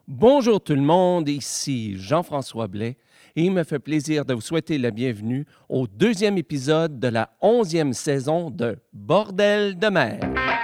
Bonjour tout le monde, ici Jean-François Blais et il me fait plaisir de vous souhaiter la bienvenue au deuxième épisode de la 11e saison de Bordel de mer.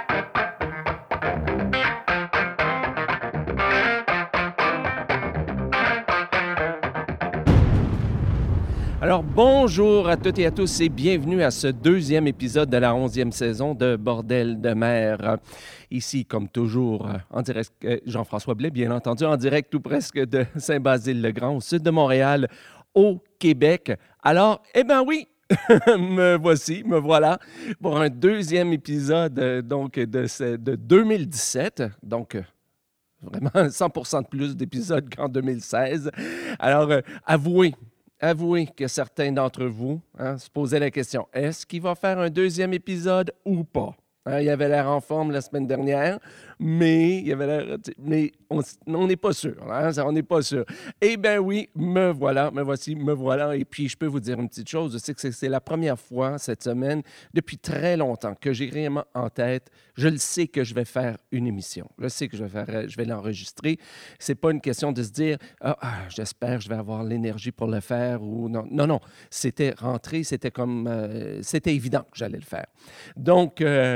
Alors, bonjour à toutes et à tous et bienvenue à ce deuxième épisode de la 11e saison de Bordel de mer. Ici, comme toujours, en direct, Jean-François Blais, bien entendu, en direct tout presque de Saint-Basile-le-Grand, au sud de Montréal, au Québec. Alors, eh bien oui, me voilà pour un deuxième épisode de 2017, donc vraiment 100% de plus d'épisodes qu'en 2016. Alors, avouez que certains d'entre vous se posaient la question, est-ce qu'il va faire un deuxième épisode ou pas? Il avait l'air en forme la semaine dernière, mais on n'est pas sûr. On n'est pas sûr. Eh bien oui, me voilà. Et puis, je peux vous dire une petite chose. Je sais que c'est la première fois cette semaine, depuis très longtemps, que j'ai réellement en tête. Je le sais que je vais faire une émission. Je sais que je vais l'enregistrer. C'est pas une question de se dire, j'espère que je vais avoir l'énergie pour le faire ou non. Non. C'était rentré, c'était évident que j'allais le faire. Donc,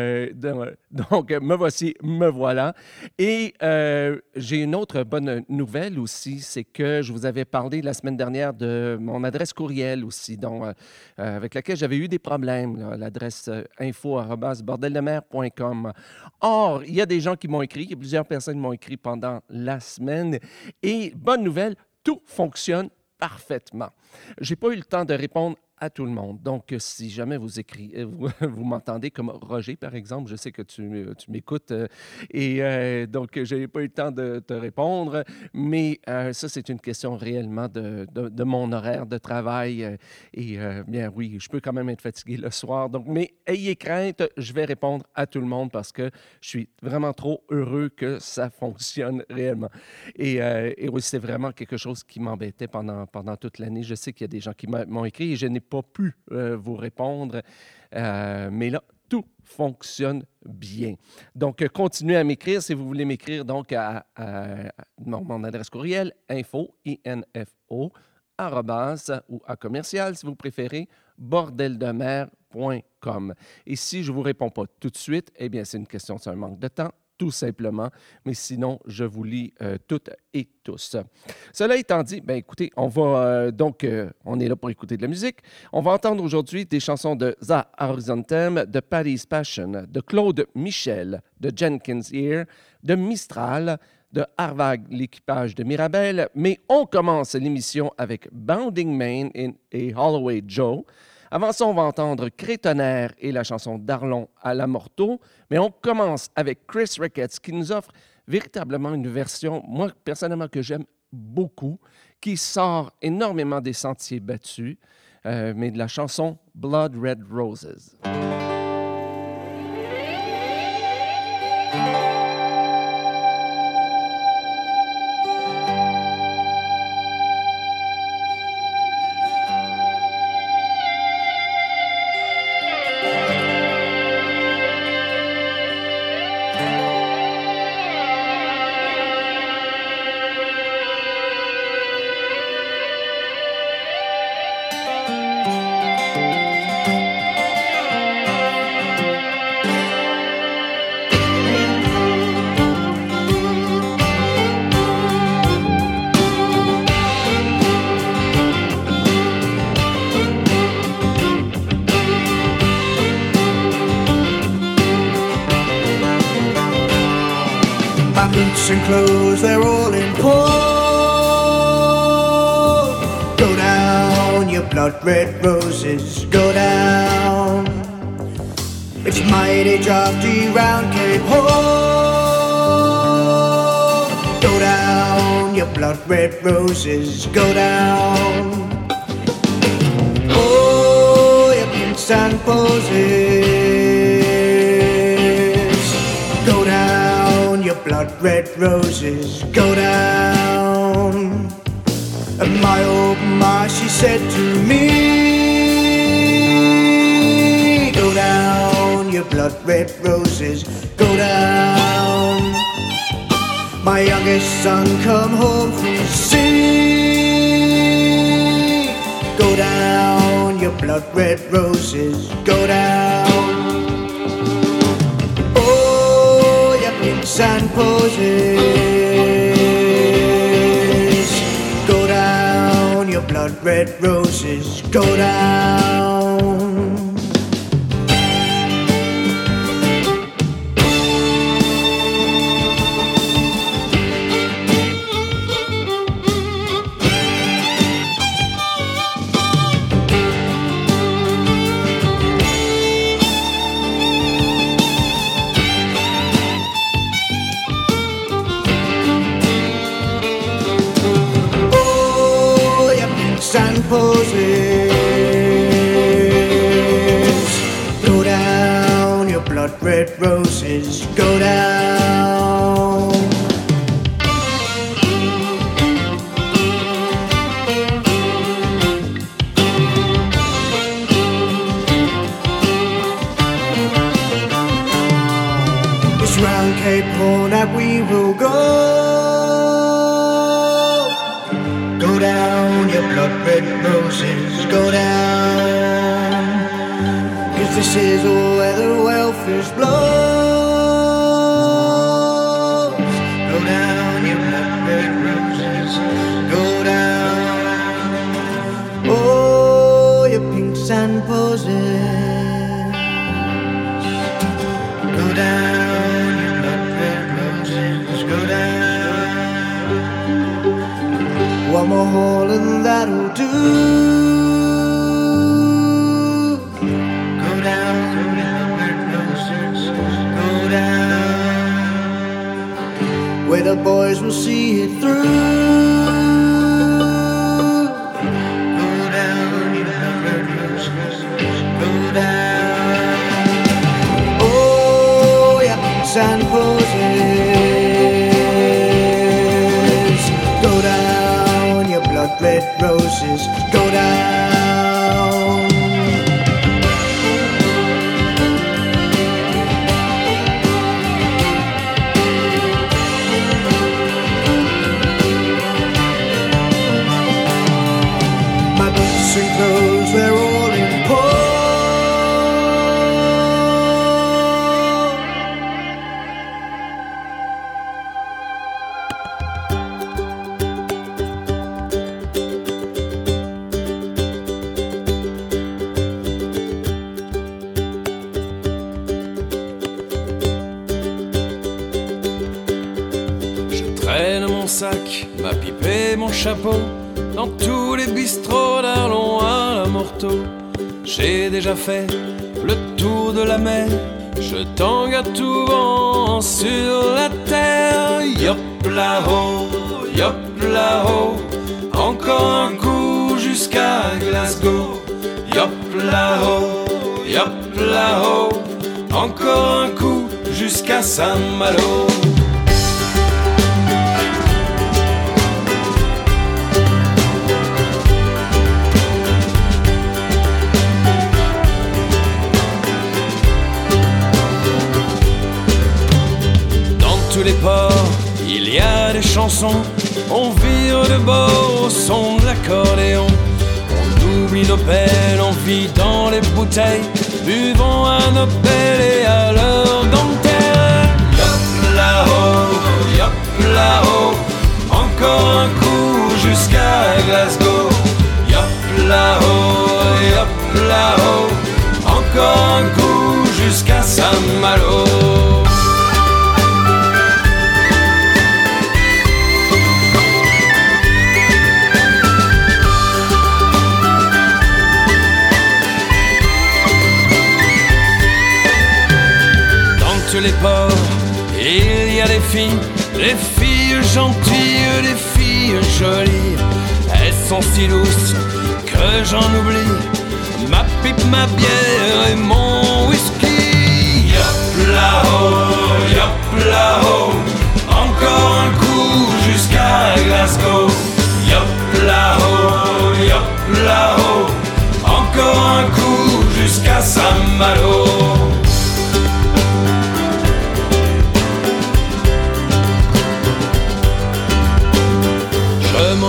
me voilà. Et j'ai une autre bonne nouvelle aussi, c'est que je vous avais parlé la semaine dernière de mon adresse courriel aussi, avec laquelle j'avais eu des problèmes, l'adresse info@bordeldemer.com. Or, il y a des gens qui m'ont écrit, il y a plusieurs personnes qui m'ont écrit pendant la semaine. Et bonne nouvelle, tout fonctionne parfaitement. Je n'ai pas eu le temps de répondre à tout le monde. Donc, si jamais vous m'entendez comme Roger, par exemple, je sais que tu m'écoutes donc, je n'ai pas eu le temps de te répondre, mais ça, c'est une question réellement de mon horaire de travail bien oui, je peux quand même être fatigué le soir. Donc, mais ayez crainte, je vais répondre à tout le monde parce que je suis vraiment trop heureux que ça fonctionne réellement. Et oui, c'est vraiment quelque chose qui m'embêtait pendant toute l'année. Je sais qu'il y a des gens qui m'ont écrit et je n'ai pas pu vous répondre, mais là, tout fonctionne bien. Donc, continuez à m'écrire si vous voulez m'écrire donc à mon adresse courriel info, ou à commercial, si vous préférez, bordeldemer.com. Et si je ne vous réponds pas tout de suite, eh bien, c'est une question de un manque de temps, tout simplement. Mais sinon, je vous lis toutes et tous. Cela étant dit, bien écoutez, on va on est là pour écouter de la musique. On va entendre aujourd'hui des chansons de The Horizontem, de Paddy's Passion, de Claude Michel, de Jenkins Ear, de Mistral, de Harvag, l'équipage de Mirabel. Mais on commence l'émission avec Bounding Main et Holloway Joe. Avant ça, on va entendre Crétonnerre et la chanson d'Arlon à la Morteau. Mais on commence avec Chris Ricketts qui nous offre véritablement une version, moi, personnellement, que j'aime beaucoup, qui sort énormément des sentiers battus, mais de la chanson Blood Red Roses. And clothes, they're all in pawn. Go down, your blood red roses, go down. It's mighty drafty round Cape Horn. Go down, your blood red roses, go down. Oh, your prints and posies. Blood red roses, go down. And my old ma, she said to me, go down, your blood red roses, go down. my youngest son come home from the sea. Go down, your blood red roses, go down. Oh, your pinks and posies. Go down, your blood red roses, go down. And poses. Go down, your blood red roses, go down. It's round Cape Horn that we will go. Go down, your blood red roses, go down. 'Cause this is where the welfare's blows. Go down, your blood red roses, go down. Oh, your pinks and posies. Go down, your blood red roses, go down. One more haul and that'll do. Go down, red roses, go down. Where the boys will see it through. Go down, red roses, go down. Oh, yeah, sand poses. Go down, your blood red roses, go down. My boots and clothes, they're all in pawn. Mon sac, ma pipe et mon chapeau dans tous les bistrots d'Arlon à la Morteau. J'ai déjà fait le tour de la mer, je tangue à tout vent sur la terre. Yop là-haut, encore un coup jusqu'à Glasgow. Yop là-haut, encore un coup jusqu'à Saint-Malo. Tous les ports, il y a des chansons, on vire de bord au son de l'accordéon. On oublie nos peines, on vit dans les bouteilles, buvons à nos pelles et à leur dentelle. Yop là-haut, encore un coup jusqu'à Glasgow. Yop là-haut, encore un coup jusqu'à Saint-Malo. Les ports, il y a des filles gentilles, des filles jolies. Elles sont si douces que j'en oublie ma pipe, ma bière et mon whisky. Yop là-haut, encore un coup jusqu'à Glasgow. Yop là-haut, encore un coup jusqu'à Saint-Malo.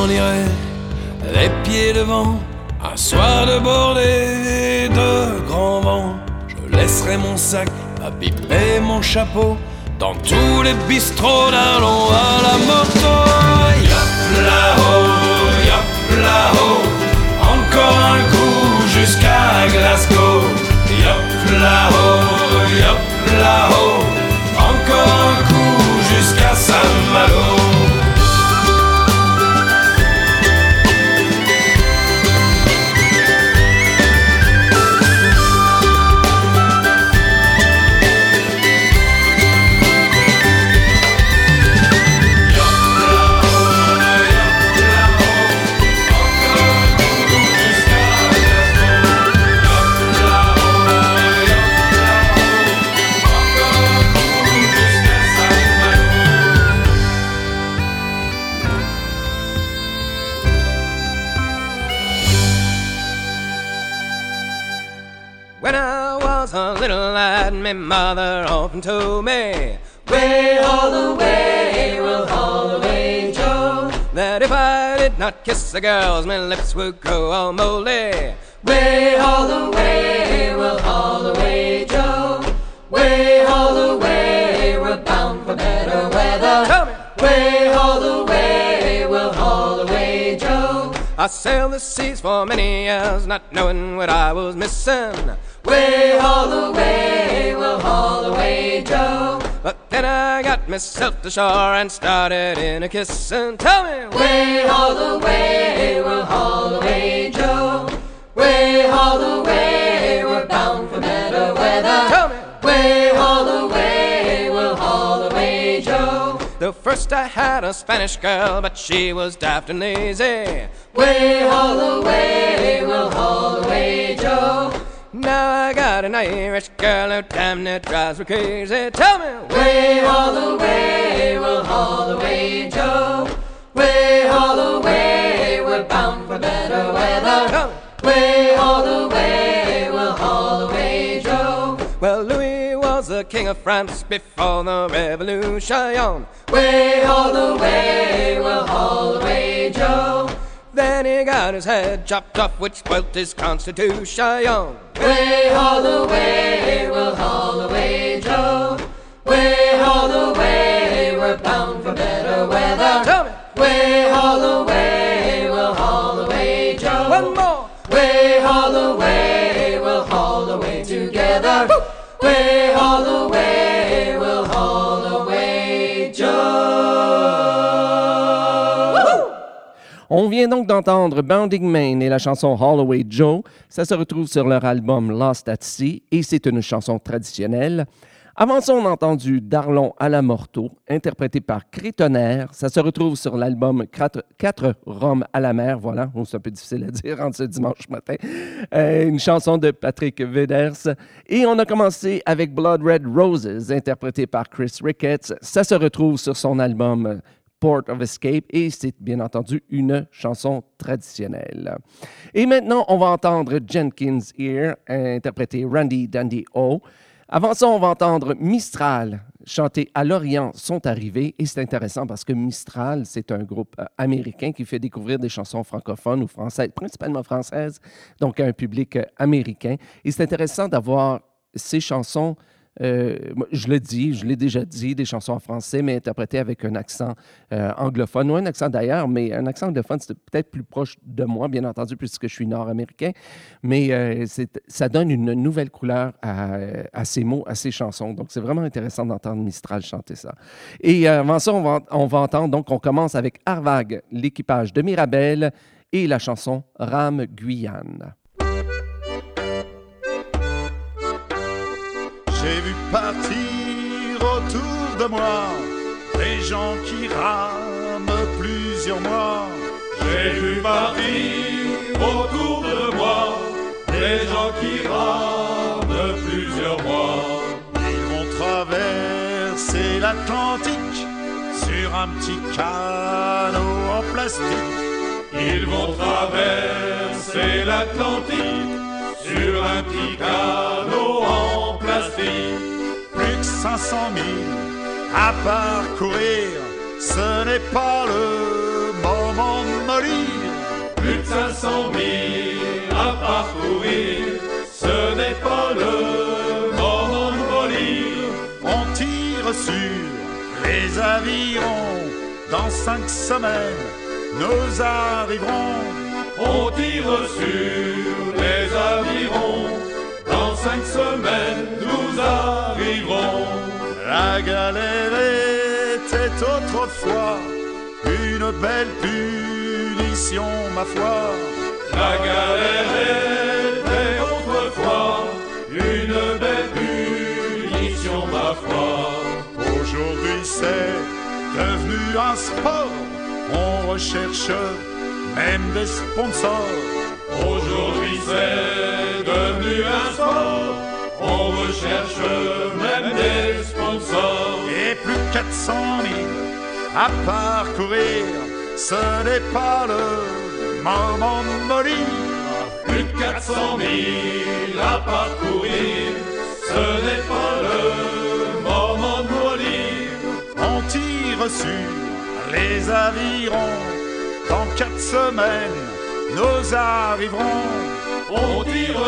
m'en irai les pieds devant, un soir de bordée de grand vent. Je laisserai mon sac, ma pipe et mon chapeau dans tous les bistrots d'Arlon à la moto. Yop là-haut, encore un coup jusqu'à Glasgow. Yop là-haut, encore un coup jusqu'à Saint-Malo. When I was a little lad, my mother often told me, way all the way, we'll haul away, Joe. That if I did not kiss the girls, my lips would grow all moldy. Way all the way, we'll haul away, Joe. Way all the way, we're bound for better weather. Tell me. Way all the way, we'll haul away, Joe. I sailed the seas for many years, not knowing what I was missing. Way all the way, we'll haul away, Joe. But then I got myself to shore and started in a kissin'. Tell me, way all the way, we'll haul away, Joe. Way all the way, we're bound for better weather. Tell me, way all the way, we'll haul away, Joe. Though first I had a Spanish girl, but she was daft and lazy. Way all the way, we'll haul away, Joe. Now I got an Irish girl who damn near drives me crazy. Tell me, way all the way, we'll haul away, Joe. Way all the way, we're bound for better weather. Tell me, way all the way, we'll haul away, Joe. Well, Louis was the king of France before the Revolution. Way all the way, we'll haul away, Joe. Then he got his head chopped off, which spoilt his constitution. Way all the way, we'll haul away, Joe. Way all the way, we're bound for better weather. Tell me, way all the way, we'll haul away, Joe. One more. Way all the way, we'll haul away together. Woo! Way all the way, we'll haul away, Joe. On vient donc d'entendre Bounding Main et la chanson Haul Away Joe. Ça se retrouve sur leur album Lost at Sea et c'est une chanson traditionnelle. Avant ça, on a entendu D'Arlon à la Morteau, interprété par Crétonnerre. Ça se retrouve sur l'album 4 Roms à la mer. Voilà, c'est un peu difficile à dire en ce dimanche matin. Une chanson de Patrick Veders. Et on a commencé avec Blood Red Roses, interprété par Chris Ricketts. Ça se retrouve sur son album Port of Escape et c'est bien entendu une chanson traditionnelle. Et maintenant, on va entendre Jenkins Ear, interprété Randy Dandy O. Avant ça, on va entendre Mistral chanter À l'Orient sont arrivés. Et c'est intéressant parce que Mistral, c'est un groupe américain qui fait découvrir des chansons francophones ou françaises, principalement françaises, donc à un public américain. Et c'est intéressant d'avoir ces chansons, je l'ai déjà dit, des chansons en français, mais interprétées avec un accent anglophone, ou un accent d'ailleurs, mais un accent anglophone, c'est peut-être plus proche de moi, bien entendu, puisque je suis nord-américain, mais ça donne une nouvelle couleur à ces mots, à ces chansons. Donc, c'est vraiment intéressant d'entendre Mistral chanter ça. Et avant ça, on va entendre, donc, on commence avec Arvag, l'équipage de Mirabel, et la chanson Rame Guyane. J'ai vu partir autour de moi des gens qui rament plusieurs mois. J'ai vu partir autour de moi des gens qui rament plusieurs mois. Ils vont traverser l'Atlantique sur un petit canot en plastique. Ils vont traverser l'Atlantique sur un petit canot en plastique. Plus que 500 000 à parcourir, ce n'est pas le moment de mourir. les avirons. Dans 5 semaines, nous arriverons. On tire sur les avirons. Dans 5 semaines, nous arriverons. La galère était autrefois une belle punition, ma foi. La galère était autrefois une belle punition, ma foi. Aujourd'hui c'est devenu un sport, on recherche même des sponsors. Aujourd'hui c'est devenu un sport, on recherche même des sponsors. Et plus de 400 000 à parcourir, ce n'est pas le moment de mollir. Plus de 400 000 à parcourir, ce n'est pas le moment de mollir. On tire sur les avirons, dans 4 semaines, nous arriverons. On tire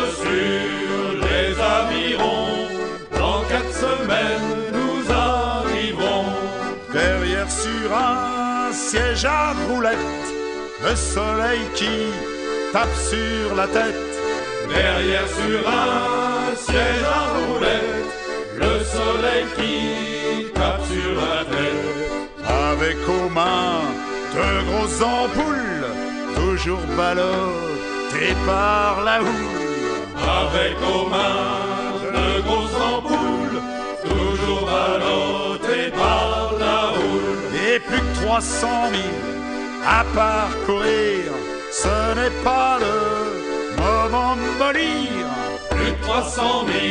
sur les avirons, dans 4 semaines, nous arriverons. Derrière sur un siège à roulettes, le soleil qui tape sur la tête. Derrière sur un siège à roulettes, le soleil qui tape sur la tête. Avec aux mains de grosses ampoules, toujours ballottées par la houle. Avec aux mains de grosses ampoules, toujours ballottées par la houle. Et plus que 300 000 à parcourir, ce n'est pas le moment de mollir. Plus de 300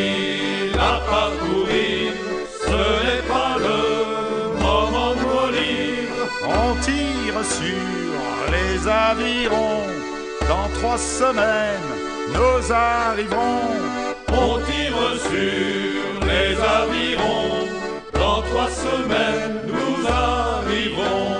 000 à parcourir, ce n'est pas le moment de mollir. On tire sur les avirons, dans 3 semaines, nous arriverons. On tire sur les avirons, dans 3 semaines, nous arriverons.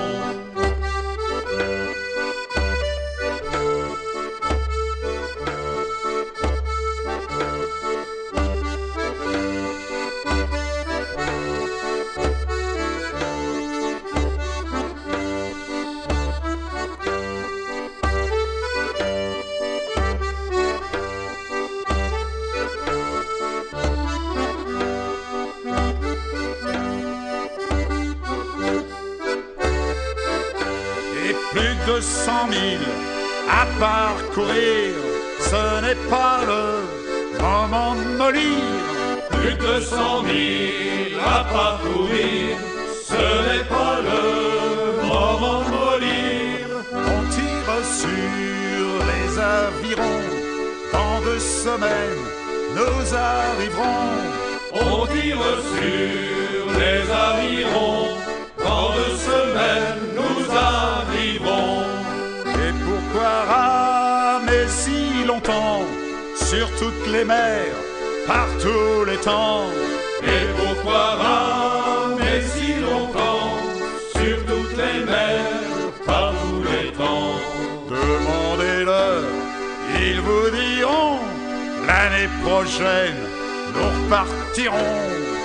Plus de 100 000 à parcourir, ce n'est pas le moment de mollir. Plus de 100 000 à parcourir, ce n'est pas le moment de mollir. On tire sur les avirons, dans 2 semaines, nous arriverons. On tire sur les avirons, dans 2 semaines, nous arriverons. Et pourquoi ramer si longtemps sur toutes les mers, par tous les temps? Et pourquoi ramer si longtemps sur toutes les mers, par tous les temps? Demandez-leur, ils vous diront, l'année prochaine, nous repartirons.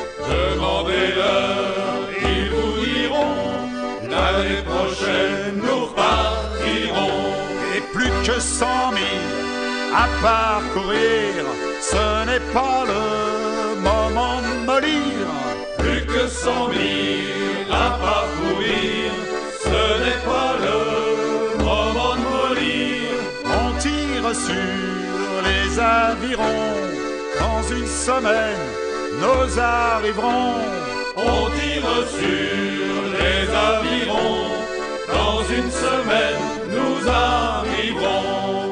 Demandez-leur, ils vous diront, l'année prochaine nous repartirons. Et plus que 100 000 à parcourir, ce n'est pas le moment de mollir. Plus que 100 000 à parcourir, ce n'est pas le moment de mollir. On tire sur les avirons, dans 1 semaine, nous arriverons. On tire sur les avirons, dans 1 semaine, nous arriverons.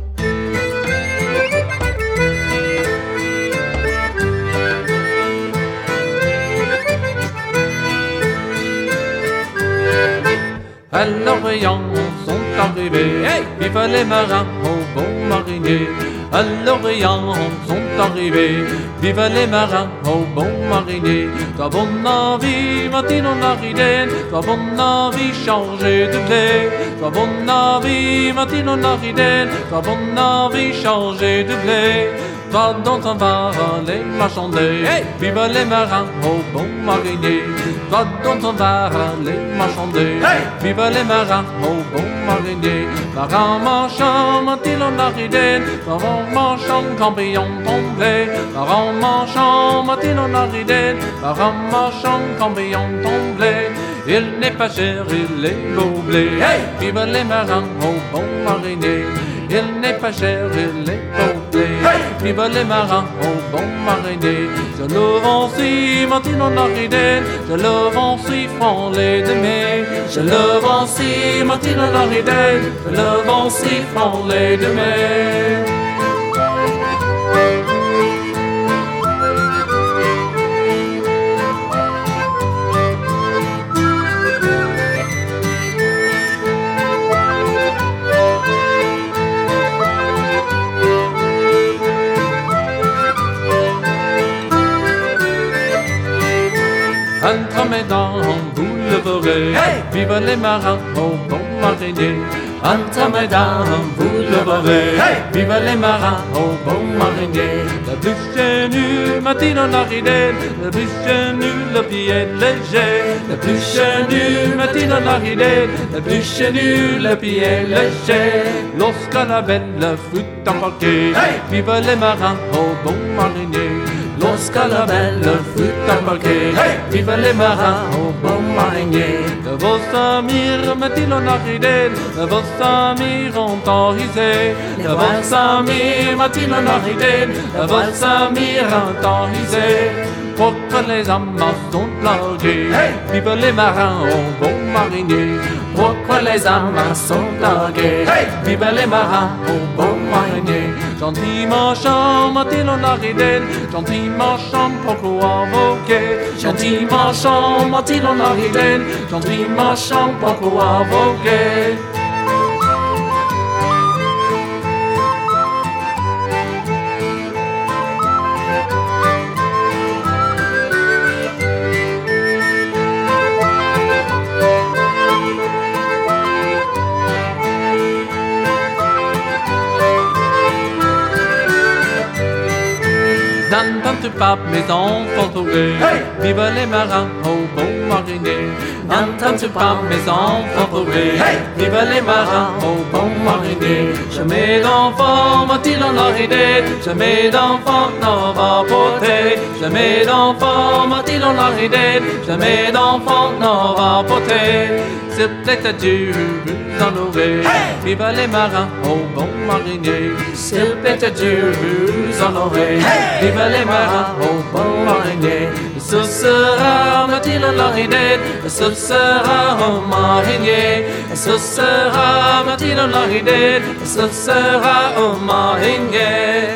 À l'Orient sont arrivés, hey, vive les marins au bon marinier. À l'Orient sont arrivés, vive les marins au bon marinier. Toi bon navire, Martino Nariden, toi bon navire changer de blé. Toi bon navire, Martino Nariden, toi bon navire changer de blé. toi dont on va les marchander. Hey! Vive les marins, oh bon marinier, toi dont on va les marchander. Hey! Vive les marins, oh bon marinier, marins marchand, mantil en aridène, marins marchand, cambrion tombé, marins marchand, mantil en aridène, marins marchand, cambrion tombé. Il n'est pas cher, il est beau blé. Hey! Vive les marins, oh bon marinier. Il n'est pas cher, il est beau blé. Hey! Vive les marins, oh bon marinier. Je le vends si Martine en aridène. Je le vends si francs les demi. Je le vends si Martine en aridène. Je le vends si francs les demi. Entre-mesdames, vous le verrez. Hey! Vive les marins, oh bon marinier. Entre-mesdames, vous le verrez. Hey! Vive les marins, oh bon marinier. La bûche est nue, Martine en aridène. La bûche est nue, le pied léger. La bûche est nue, Martine en aridène. La bûche est nue, le pied léger. Lorsque la belle fut embarquée. Hey! Vive les marins, oh bon marinier. Lorsque la belle fut embarquée, Hey! vive les marins, oh bon marinier. De vos amis, Mathilde en aridène, de vos amis ont enrisé. De vos amis, Mathilde en aridène, de vos amis ont enrisé. Pour que les amas sont largués, Hey! vive les marins, oh bon marinier. Pour que les amas sont largués, Hey! vive les marins, oh bon marinier. Gentiment chant, Mathilde en aridène, gentiment chant, pourquoi voguer? Gentiment chant, Mathilde en aridène, gentiment chant, pourquoi voguer? N'entends-tu pas mes enfants trouver? Hey! Vive les marins, oh bon marinier. N'entends-tu pas mes enfants trouver? Hey! Vive les marins, oh bon marinier. Jamais d'enfants, Mathilde en aridène. Jamais d'enfants n'en va porter. Jamais d'enfants, Mathilde en aridène. Jamais d'enfants n'en va porter. S'il plaît à Dieu, vous en aurez. Hey! Vive les marins, oh bon marinier. S'il plaît à Dieu, vous en aurez. Hey! Vive les marins, oh bon marinier. Ce sera Mathilde en aridène. Ce sera un marinier. Ce sera Mathilde en aridène. Ce sera un marinier.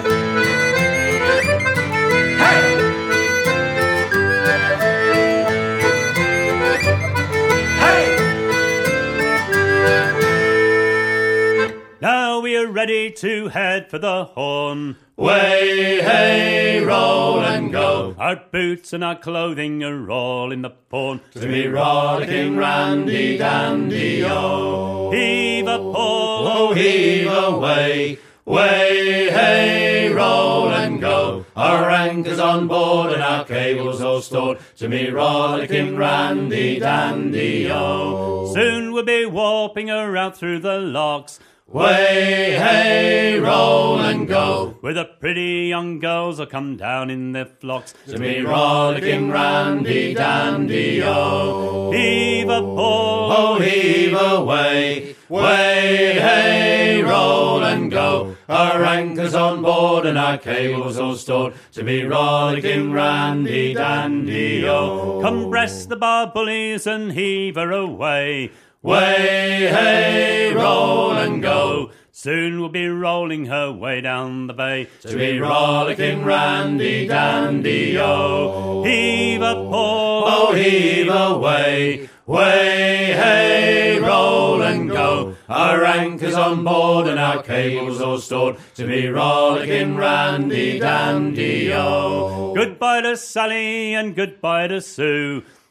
Hey! Hey! Now we're ready to head for the Horn. Way, hey, roll and go. Our boots and our clothing are all in the pawn. To be rollicking randy dandy, oh. Heave a pole, Oh, heave away. Way, hey, roll and go. Our anchor's on board and our cables all stored. To me rollicking randy dandy, oh. Soon we'll be warping her out through the locks. Way, hey, roll and go. Where the pretty young girls will come down in their flocks. To me rollicking randy dandy, oh. Heave a pole, Oh, heave away. Way, hey, roll and go. Our anchor's on board and our cables all stored. To be rollicking randy dandy, oh. come breast the bar bullies and heave her away. Way, hey, roll and go. Soon we'll be rolling her way down the bay. To be rollicking randy dandy, oh. Heave a pole, Oh, heave away. Way, hey, roll and go. Our anchor's on board and our cables all stored. To be rollicking randy dandy, oh. Goodbye to Sally and goodbye to Sue.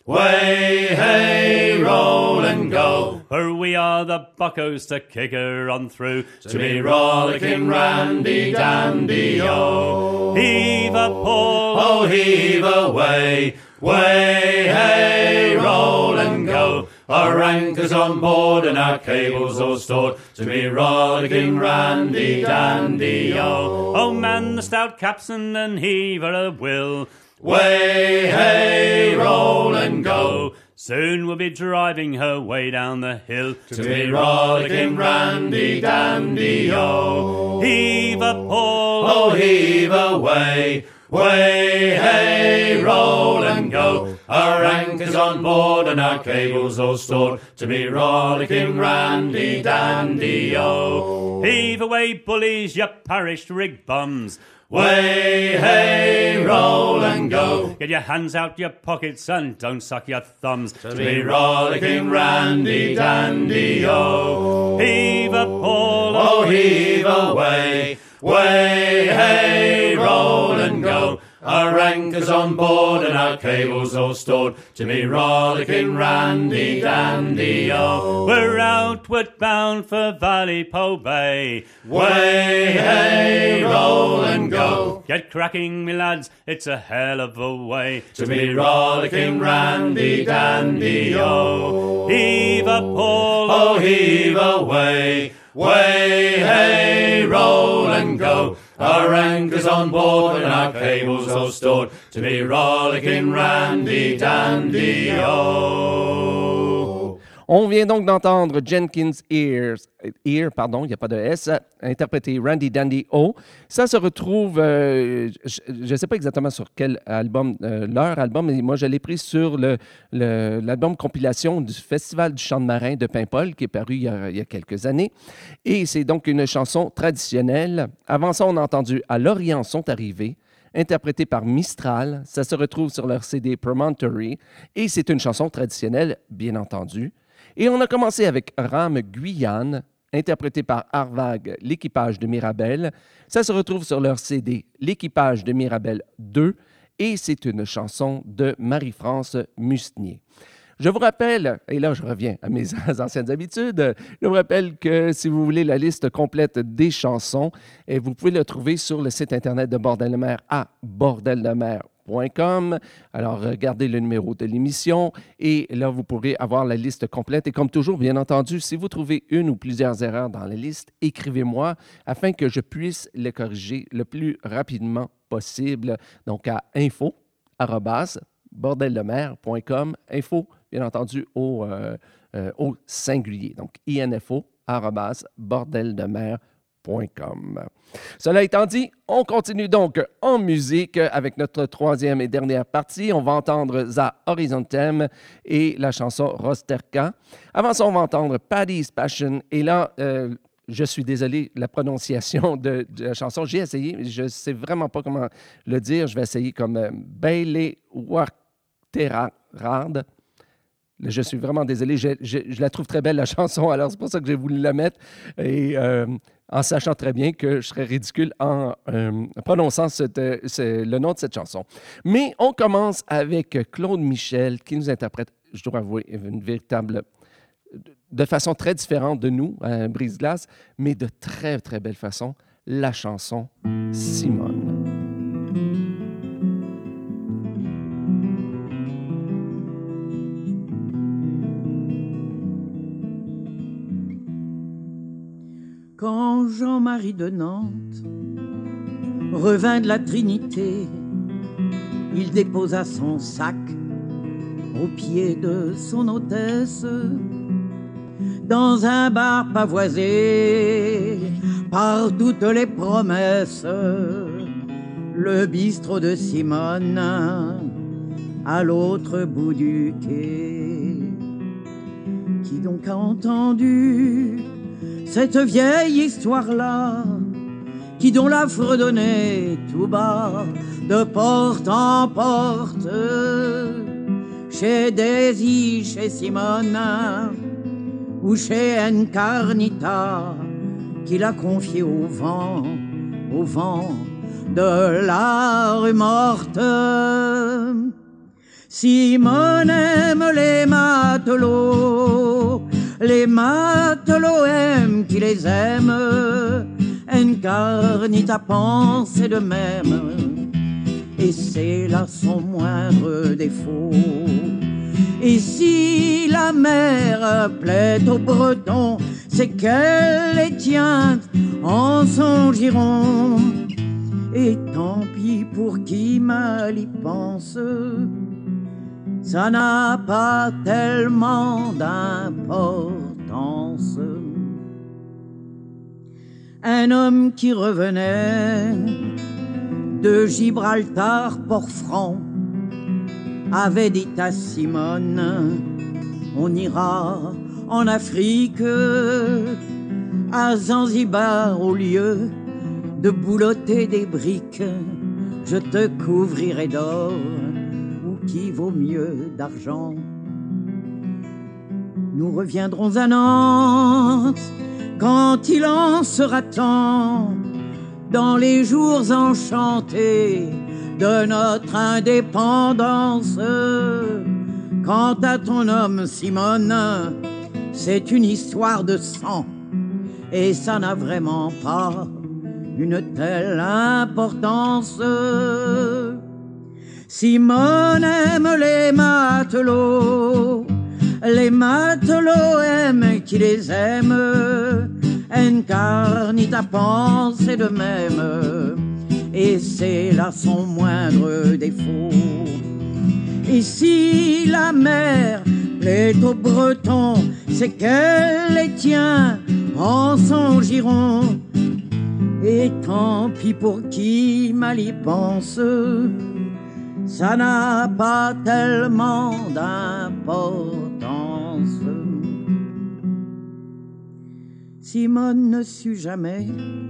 Way, hey, roll and go. For we are the buckos to kick her on through. To be rollicking randy dandy, oh. Heave a pole, Oh, heave away. Way, hey, roll and go. Our anchor's on board and our cables all stored. To be rollicking randy dandy, oh. oh man the stout capstan and heave her a will. Way, hey, roll and go. Soon we'll be driving her way down the hill. To be rollicking randy dandy, oh. Heave a pole, Oh, heave away. Way, hey, roll and go. Our anchor's on board and our cables all stored. To be rollicking randy dandy, oh. heave away bullies, you parish rig bums. Way, hey, roll and go. Get your hands out your pockets and don't suck your thumbs. To be rollicking randy dandy, oh. Heave a pole, Oh, heave away. Way, hey, roll and go. Our anchor's on board and our cables all stored. To be rollicking randy dandy, oh. we're outward bound for Vallepo Bay. Way, hey, roll and go. Get cracking, me lads, it's a hell of a way. To be rollicking randy dandy, oh. Heave a pole, Oh, heave away. Way, hey, roll and go. Our anchor's on board and our cables all stored. To be rollicking randy dandy, oh. On vient donc d'entendre Jenkins Ear, il n'y a pas de S, interprété Randy Dandy O. Ça se retrouve, je ne sais pas exactement sur quel album, leur album, mais moi je l'ai pris sur l'album compilation du Festival du Chant de Marin de Paimpol, qui est paru il y a quelques années. Et c'est donc une chanson traditionnelle. Avant ça, on a entendu À l'Orient sont arrivés, interprété par Mistral. Ça se retrouve sur leur CD Promontory. Et c'est une chanson traditionnelle, bien entendu. Et on a commencé avec Rame Guyane, interprété par Arvag, l'équipage de Mirabel. Ça se retrouve sur leur CD L'équipage de Mirabel 2 et c'est une chanson de Marie-France Musnier. Je vous rappelle, et là je reviens à mes anciennes habitudes, je vous rappelle que si vous voulez la liste complète des chansons, vous pouvez la trouver sur le site internet de Bordel de mer à bordeldemer.com. Alors, regardez le numéro de l'émission et là, vous pourrez avoir la liste complète. Et comme toujours, bien entendu, si vous trouvez une ou plusieurs erreurs dans la liste, écrivez-moi afin que je puisse les corriger le plus rapidement possible. Donc, à info@bordeldemer.com. Info, bien entendu, au singulier. Donc, info@bordeldemer.com. Cela étant dit, on continue donc en musique avec notre troisième et dernière partie. On va entendre Za Horizontem et la chanson Rosterka. Avant ça, on va entendre Paddy's Passion. Et là, je suis désolé, la prononciation de la chanson, j'ai essayé, mais je ne sais vraiment pas comment le dire. Je vais essayer comme Baile Wakterarad. Je suis vraiment désolé. Je la trouve très belle, la chanson. Alors, c'est pour ça que j'ai voulu la mettre. Et en sachant très bien que je serais ridicule en prononçant le nom de cette chanson. Mais on commence avec Claude Michel, qui nous interprète, je dois avouer, de façon très différente de nous, Brise-Glace, mais de très, très belle façon, la chanson Simone. Quand Jean-Marie de Nantes revint de la Trinité, il déposa son sac au pied de son hôtesse dans un bar pavoisé par toutes les promesses, le bistrot de Simone à l'autre bout du quai. Qui donc a entendu cette vieille histoire-là, qui dont la fredonnait tout bas, de porte en porte, chez Daisy, chez Simone, ou chez Encarnita, qui l'a confié au vent de la rue morte. Simone aime les matelots aiment qui les aiment, incarnita pensée de même, et c'est là son moindre défaut. Et si la mer plaît aux Bretons, c'est qu'elle les tient en son giron. Et tant pis pour qui mal y pense, ça n'a pas tellement d'importance. Un homme qui revenait de Gibraltar, Port-Franc, avait dit à Simone, on ira en Afrique, à Zanzibar, au lieu de boulotter des briques, je te couvrirai d'or, ou qui vaut mieux d'argent. Nous reviendrons à Nantes quand il en sera temps, dans les jours enchantés de notre indépendance. Quant à ton homme, Simone, c'est une histoire de sang, et ça n'a vraiment pas une telle importance. Simone aime les matelots aiment qui les aiment, incarnita pensée de même, et c'est là son moindre défaut. Et si la mer plaît aux Bretons, c'est qu'elle les tient en son giron. Et tant pis pour qui mal y pense, ça n'a pas tellement d'importance. Simone ne sut jamais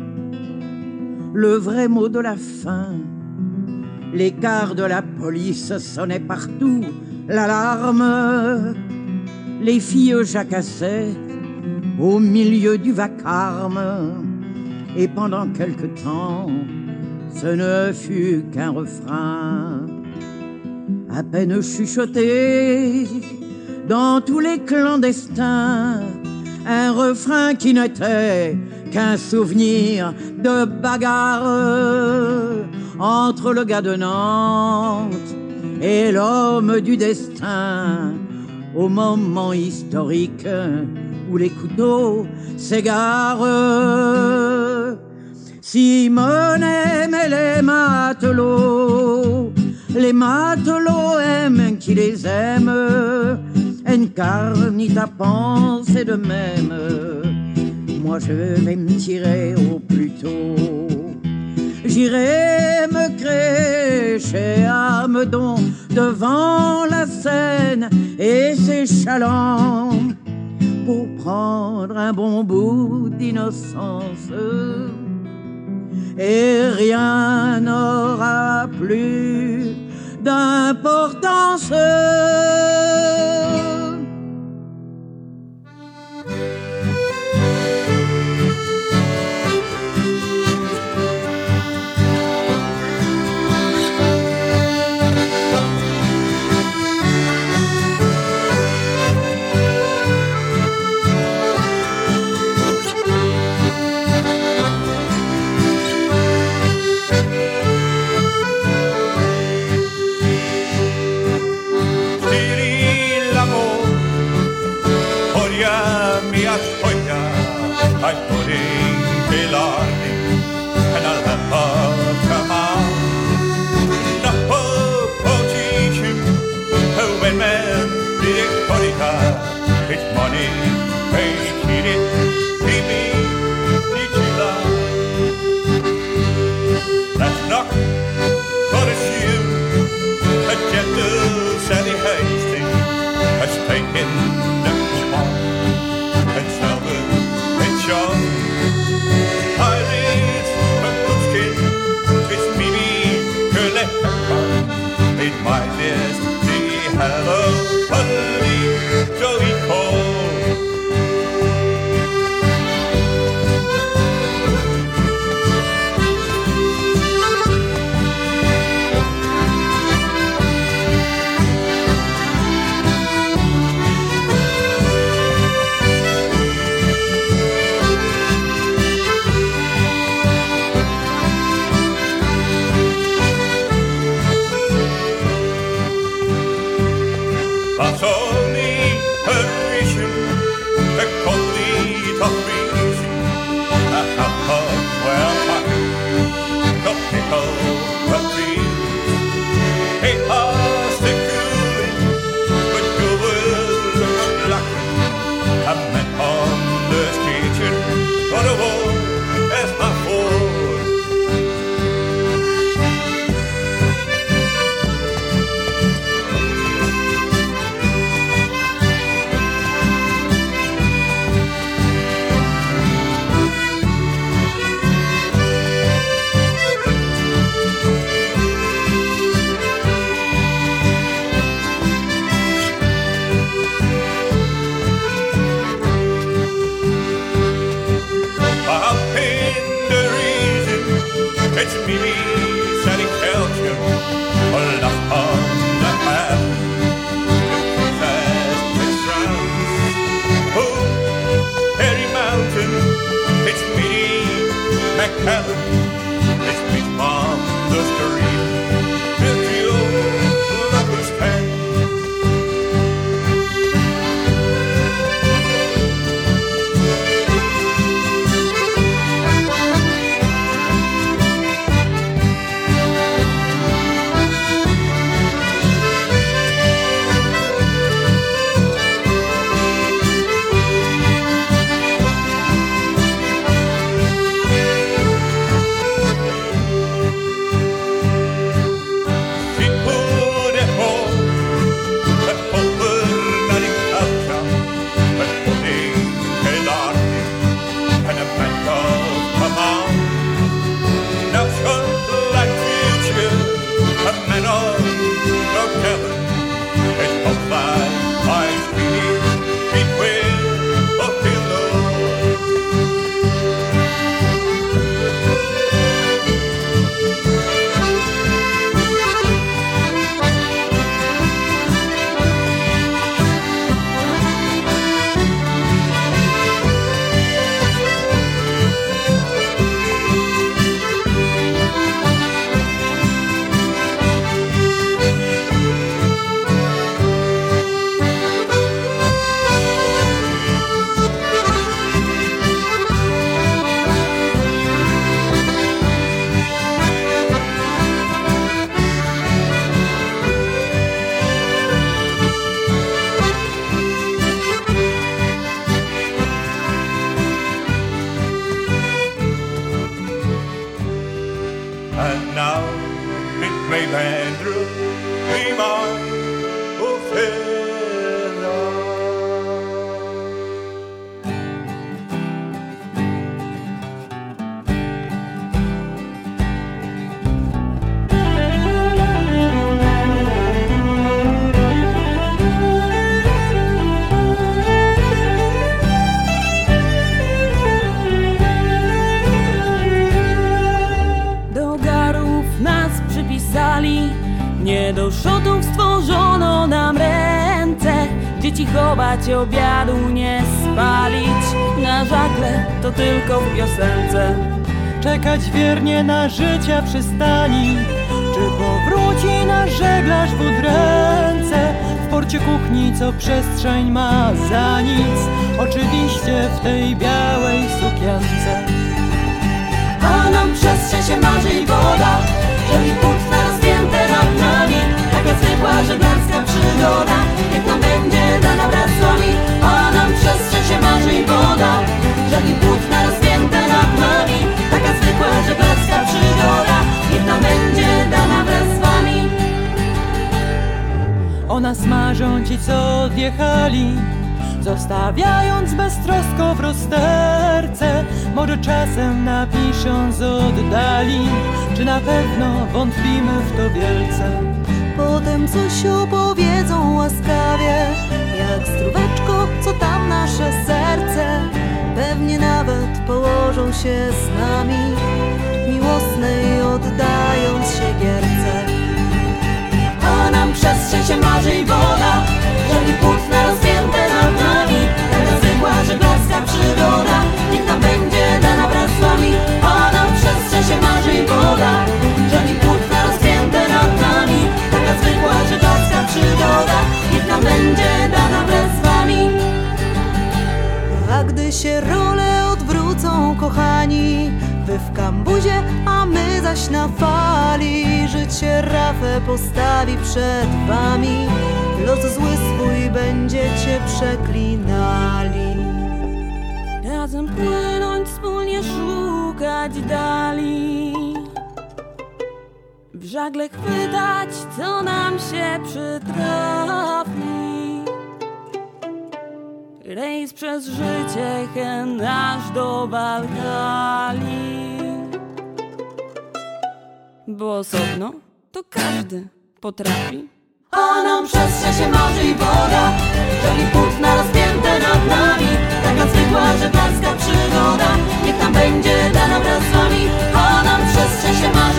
le vrai mot de la fin. Les quarts de la police sonnaient partout l'alarme. Les filles jacassaient au milieu du vacarme. Et pendant quelque temps, ce ne fut qu'un refrain à peine chuchoté dans tous les clandestins, un refrain qui n'était qu'un souvenir de bagarre entre le gars de Nantes et l'homme du destin, au moment historique où les couteaux s'égarent. Simone aimait les matelots aiment qui les aiment, incarnita pensée de même. Moi je vais me tirer au plus tôt, j'irai me crécher à Meudon devant la Seine et ses chalands pour prendre un bon bout d'innocence. Et rien n'aura plus d'importance. It's Mimi, Sally Kelton, hold up on the hand. It's France, oh, Harry Mountain. It's Minnie McCallum. It's Miss Mom, the street. It's the old lover's stand. And now it may Andrew be my Ophelia. Nie do szotów stworzono nam ręce, dzieci chować, obiadu nie spalić. Na żagle to tylko w piosence. Czekać wiernie na życia przystani, czy powróci nasz żeglarz w udręce. W porcie kuchni, co przestrzeń ma za nic, oczywiście w tej białej sukience. A nam przestrzeń się marzy i woda, żeby płótna rozpięte nad nami. Taka zwykła żeglarska przygoda, niech nam będzie dana wraz z wami. A nam przestrzeń się marzy i woda, żeby płótna rozpięte nad nami. Taka zwykła żeglarska przygoda, niech nam będzie dana wraz z wami. O nas marzą ci, co odjechali, zostawiając beztrosko w rozterce. Może czasem napiszą z oddali, czy na pewno wątpimy w to wielce. Potem coś opowiedzą łaskawie, jak zdróweczko, co tam nasze serce. Pewnie nawet położą się z nami, miłosnej oddając się gierce. A nam przestrzeń się marzy i woda, żeby płótna rozpięte nad nami. Taka zwykła żeglarska przygoda, niech nam będzie dana wraz z wami. A nam przestrzeń się marzy i woda, żeby płótna rozpięte nad nami. Taka zwykła żeglarska przygoda, niech nam będzie dana wraz z wami. A gdy się role odwrócą, kochani, wy w kambuzie, a my zaś na fali, życie rafę postawi przed wami, los zły swój będziecie przeklinali. Razem płynąć, wspólnie szukać dali, w żagle chwytać, co nam się przytrafi. Rejs przez życie, hen aż do Balkali. Bo osobno to każdy potrafi. A nam przestrzeń się marzy i woda, żegli płótna rozpięte nad nami. Taka zwykła żeglarska przygoda, niech nam będzie dana wraz z wami. A nam przestrzeń się marzy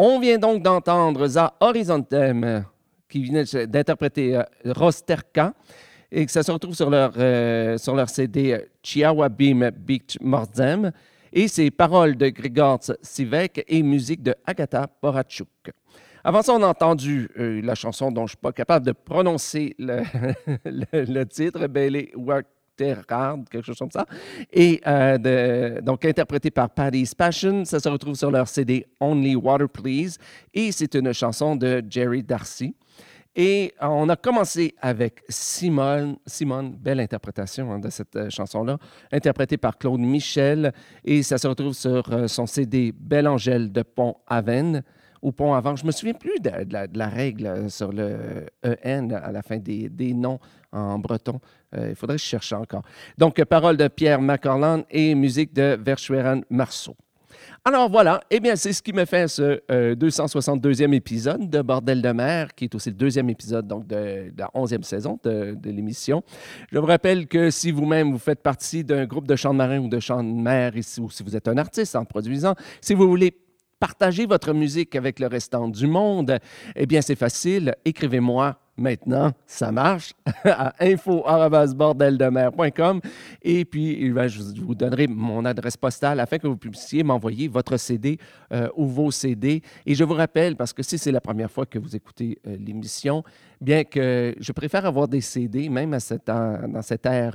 On vient donc d'entendre Za Horizontem, qui vient d'interpréter Rosterka, et que ça se retrouve sur leur CD Chiawabim Beach Mordzem, et c'est paroles de Grigor Sivek et musique de Agata Porachuk. Avant ça, on a entendu la chanson dont je ne suis pas capable de prononcer le titre, Bele Waterhard, quelque chose comme ça, et donc interprété par Paddy's Passion. Ça se retrouve sur leur CD Only Water Please, et c'est une chanson de Jerry Darcy. Et on a commencé avec Simone, belle interprétation de cette chanson-là, interprétée par Claude Michel, et ça se retrouve sur son CD Belle Angèle de Pont-Aven, ou Pont-Aven. Je ne me souviens plus de la règle sur le EN à la fin des noms en breton. Il faudrait que je cherche encore. Donc, paroles de Pierre McCarlan et musique de Verschueren Marceau. Alors voilà, eh bien, c'est ce qui me fait ce 262e épisode de Bordel de mer, qui est aussi le deuxième épisode donc, de la 11e saison de l'émission. Je vous rappelle que si vous-même, vous faites partie d'un groupe de chants de marins ou de chants de mer, ou si vous êtes un artiste en produisant, si vous voulez partager votre musique avec le restant du monde, eh bien, c'est facile. Écrivez-moi maintenant, ça marche, à info@bordeldemer.com. Et puis, je vous donnerai mon adresse postale afin que vous puissiez m'envoyer votre CD ou vos CD. Et je vous rappelle, parce que si c'est la première fois que vous écoutez l'émission, bien que je préfère avoir des CD, même dans cette ère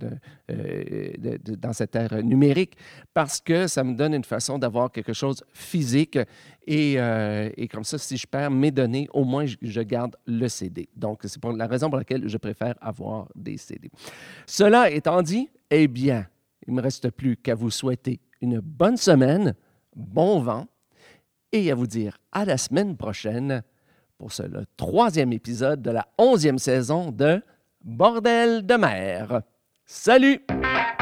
numérique, parce que ça me donne une façon d'avoir quelque chose physique. Et comme ça, si je perds mes données, au moins, je garde le CD. Donc, c'est pour la raison pour laquelle je préfère avoir des CD. Cela étant dit, eh bien, il ne me reste plus qu'à vous souhaiter une bonne semaine, bon vent, et à vous dire à la semaine prochaine pour le 3e épisode de la 11e saison de Bordel de mer. Salut!